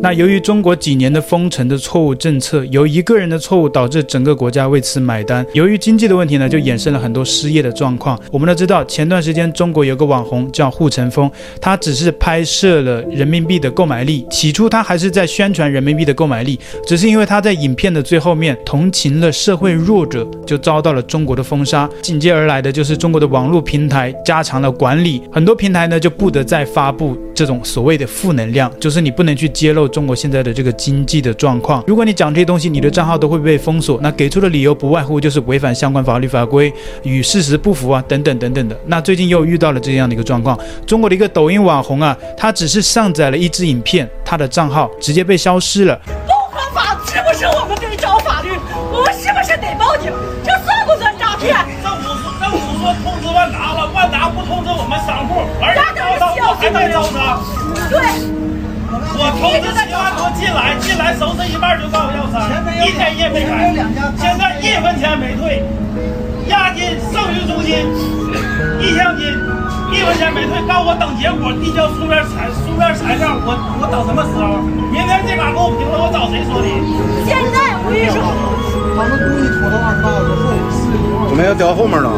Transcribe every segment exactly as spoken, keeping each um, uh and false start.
那由於中國幾年的封城的錯誤政策，由一個人的錯誤導致整個國家為此買單。由於經濟的問題呢，就衍生了很多失業的狀況。我們都知道，前段時間中國有個網紅叫護城風，他只是拍攝了人民幣的購買力。起初他還是在宣傳人民幣的購買力，只是因為他在影片的最後面同情了社會弱者，就遭到了中國的封殺。緊接而來的就是中國的網絡平台加強了管理，很多平台呢就不得再發布這種所謂的負能量，就是你不能去揭露中國現在的這個經濟的狀況。如果你講這些東西，你的賬號都會被封鎖。那給出的理由不外乎就是違反相關法律法規、與事實不符啊，等等等等的。那最近又遇到了這樣的一個狀況，中國的一個抖音網紅啊，他只是上載了一支影片，他的賬號直接被消失了。 不合法是不是我們得找法律？我們是不是得報警？這算不算詐騙？ 政府说政府说通知萬達了，萬達不通知我們商戶，而且招商我還在招商。 對。 我投資七萬多進來，進來收拾一半就告我要商，一天也沒開，現在一分錢沒退，押金、剩余租金、意向金，一分錢沒退，告我等結果，遞交書面材書面材料，我我等什麼時候？明天这嘎给我平了，我找誰说理？ 現在我跟你說， 他們故意拖到二十八小時後， 我們要調後面了。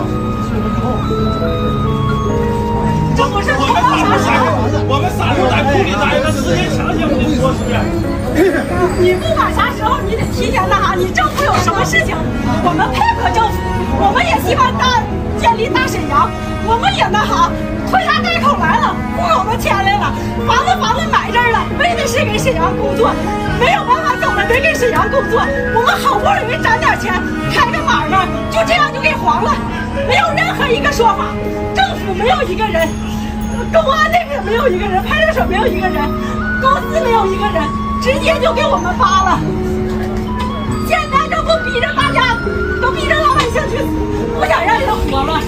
這不是我們傻不傻？我們傻不在庫裡待着，時間長些我就说出來。 你不管啥時候，你得提前那啥。你政府有什麼事情，我們配合政府，我們也希望大建立大沈陽，我們也那啥，推家带口來了，雇我們錢來了，房子房子買這兒了，為的是給沈陽工作，沒有辦法搞了，得給沈陽工作。我們好不容易攒點錢，開個買賣，就這樣就給黃了，沒有任何一個說法。政府沒有一個人，公安那邊沒有一個人，派出所沒有一個人，公司沒有一個人，直接就給我們發了。現在政府逼着大家，都逼着老百姓去死，不想讓人活了。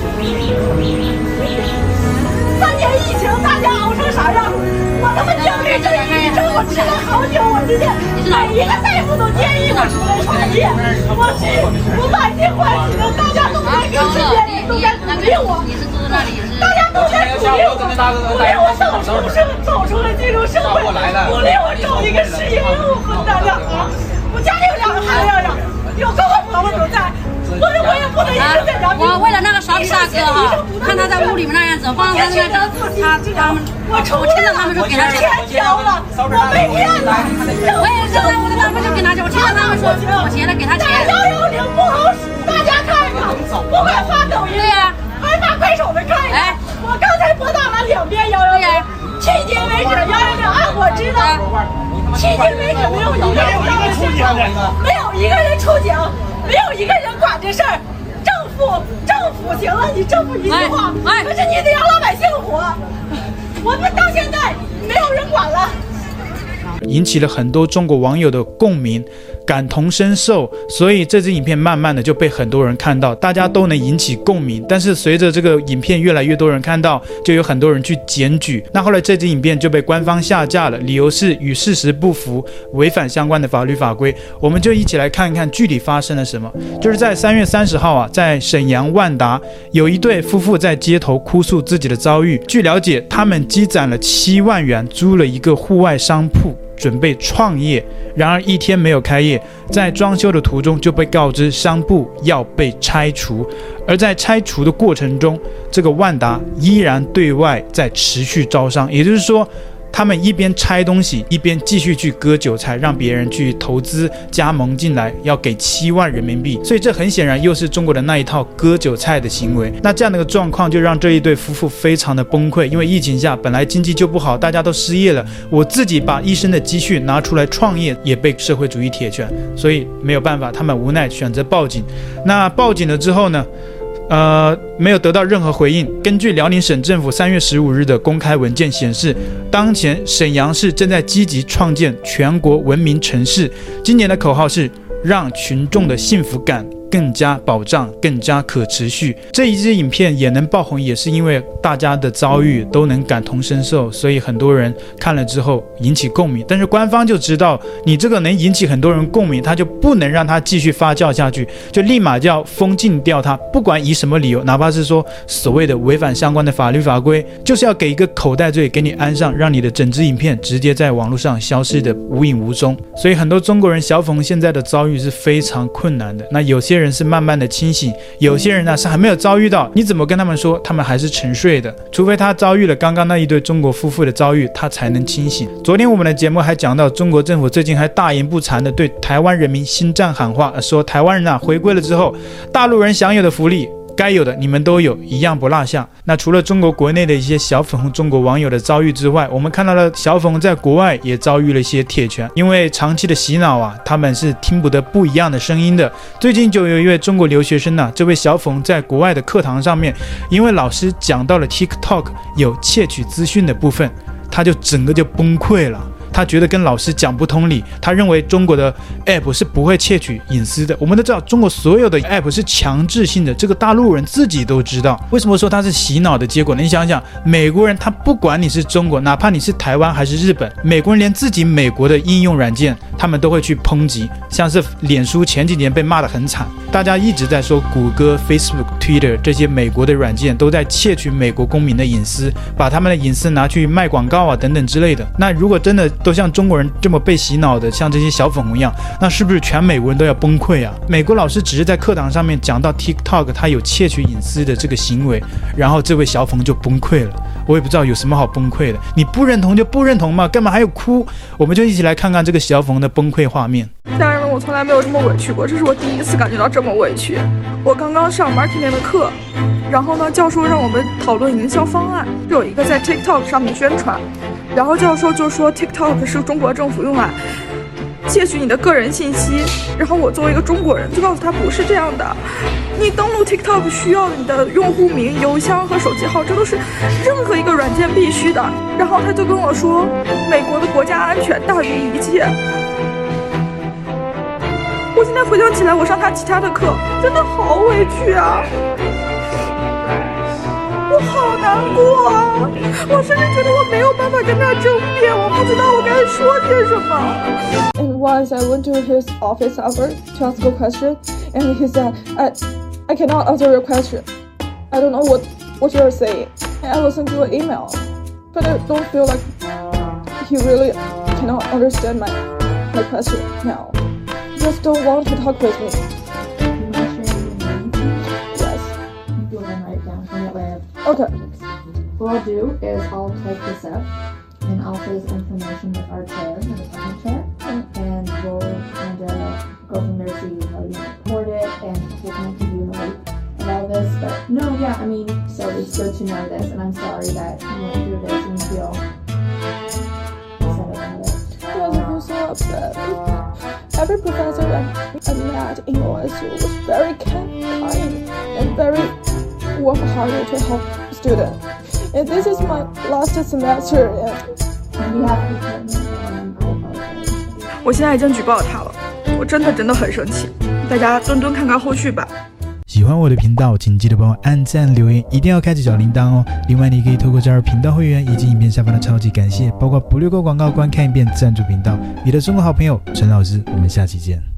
三年疫情，大家熬成啥樣？我他媽焦慮症、抑鬱症，我吃了好久，我直接每一個大夫都建議我出來創業。我去，我滿心歡喜的，大家都在給身邊人都在鼓勵我。大家都在鼓勵我，鼓勵我走出社，走出了这種社會，鼓勵我找一個事業，我和咱倆好。我家裡有兩個孩子呀，有哥哥婆婆都在，我我也不能一直在家。 我為了那個傻逼大哥哈，看他在屋裡面那樣子，放他那個他他們， 我出去了，他們就給他錢交了，我被騙了。 我也是，我他們就給他錢，我聽到他們說我錢了，給他錢。 幺幺零不好使，大家看看，不管发抖音。对呀。还发快手的看一看，我剛才撥打了兩遍幺幺零，迄今為止幺幺零按我知道，迄今為止沒有一個人到了現場，沒有一個人出警，沒有一個人管這事兒。政府政府行了，你政府一句話，可是你得讓老百姓活。我們到現在沒有人管了。 引起了很多中國網友的共鳴，感同身受，所以這支影片慢慢的就被很多人看到，大家都能引起共鳴。但是隨着這個影片越來越多人看到，就有很多人去檢舉。那後來這支影片就被官方下架了，理由是與事實不符，違反相關的法律法規。我們就一起來看一看具體發生了什麼。就是在三月三十號啊，在沈陽萬達有一對夫婦在街頭哭訴自己的遭遇。據了解，他們積攢了七萬元，租了一個戶外商鋪，準備創業，然而一天沒有開業，在裝修的途中就被告知商鋪要被拆除，而在拆除的過程中，這個萬達依然對外在持續招商，也就是說，他們一邊拆東西，一邊繼續去割韭菜，讓別人去投資加盟進來，要給七萬人民幣。所以這很顯然又是中國的那一套割韭菜的行為。那這樣的一個狀況就讓這一對夫婦非常的崩潰，因為疫情下本來經濟就不好，大家都失業了，我自己把一生的積蓄拿出來創業，也被社會主義鐵拳，所以沒有辦法，他們無奈選擇報警。那報警了之後呢？呃，沒有得到任何回應。根據遼寧省政府三月十五日的公開文件顯示，當前瀋陽市正在積極創建全國文明城市，今年的口號是讓群眾的幸福感更加保障，更加可持續。這一支影片也能爆紅，也是因為大家的遭遇都能感同身受，所以很多人看了之後引起共鳴。但是官方就知道你這個能引起很多人共鳴，他就不能讓他繼續發酵下去，就立馬就要封禁掉他，不管以什麼理由，哪怕是說所謂的違反相關的法律法規，就是要給一個口袋罪給你安上，讓你的整支影片直接在網絡上消失的無影無蹤。所以很多中國人小粉紅現在的遭遇是非常困難的。那有些人是慢慢的清醒，有些人呢是還沒有遭遇到，你怎麼跟他們說，他们還是沉睡的，除非他遭遇了剛剛那一對中國夫婦的遭遇，他才能清醒。昨天我們的節目還講到，中國政府最近還大言不慚的對台灣人民心戰喊話，說台灣人啊回歸了之後，大陸人享有的福利該有的你們都有，一樣不落下。那除了中國國內的一些小粉紅中國網友的遭遇之外，我們看到了小粉紅在國外也遭遇了一些鐵拳，因為長期的洗腦啊，他們是聽不得不一樣的聲音的。最近就有一位中國留學生啊，這位小粉紅在國外的課堂上面，因為老師講到了 TikTok 有竊取資訊的部分，他就整個就崩潰了。他覺得跟老師講不通理，他認為中國的 app 是不會竊取隱私的。我們都知道中國所有的 app 是強制性的，這個大陸人自己都知道。為什麼說他是洗腦的結果呢？你想想，美國人他不管你是中國，哪怕你是台灣還是日本，美國人連自己美國的應用軟件他們都會去抨擊，像是臉書前幾年被罵得很慘，大家一直在說谷歌、Facebook、Twitter 這些美國的軟件都在竊取美國公民的隱私，把他們的隱私拿去賣廣告啊等等之類的。那如果真的都像中國人這麼被洗腦的，像這些小粉紅一樣，那是不是全美國人都要崩潰啊？美國老師只是在課堂上面講到 TikTok 它有竊取隱私的這個行為，然後這位小粉紅就崩潰了。我也不知道有什麼好崩潰的，你不認同就不認同嘛，幹嘛還要哭？我們就一起來看看這個小粉紅的崩潰畫面。 家人們，我從來沒有這麼委屈過，這是我第一次感覺到這麼委屈。我剛剛上 marketing 的課，然後呢，教授讓我們討論營銷方案，有一個在 TikTok 上面宣傳，然後教授就說 TikTok 是中國政府用来竊取你的個人信息，然後我作為一個中國人就告訴他不是這樣的，你登錄 TikTok 需要你的用戶名、郵箱和手機號，這都是任何一個軟件必須的。然後他就跟我說，美國的國家安全大於一切。我現在回想起來，我上他其他的課真的好委屈啊，我好難過啊，我甚至覺得我沒有辦法跟他爭辯，我不知道我該說些什麼。And once I went to his office hour to ask a question, and he said, I, I cannot answer your question. I don't know what, what you're saying. And I listened to an email, but I don't feel like he really cannot understand my, my question now. Just don't want to talk with me. You want to share your name? Yes. Go ahead and write it down. That way. Okay. What I'll do is I'll type this up and I'll share this information with our chair, the department chair, mm-hmm. and we'll kind of go from there, see how you report it and what kind of you know about this. But no, yeah, I mean, so it's good to know this, and I'm sorry that you went through this and you feel upset about it. Yes, I feel so upset. Every professor I met in O S U was very kind and very warm-hearted to help students. And this is my last semester. And we have to. 我現在已經舉報他了，我真的真的很生氣，大家蹲蹲看看後續吧。 喜歡我的頻道，請記得幫我按讚留言，一定要開啟小鈴鐺哦。另外，你可以透過加入頻道會員以及影片下方的超級感謝，包括不略過廣告、觀看一遍贊助頻道。你的中國好朋友陳老師，我們下期見。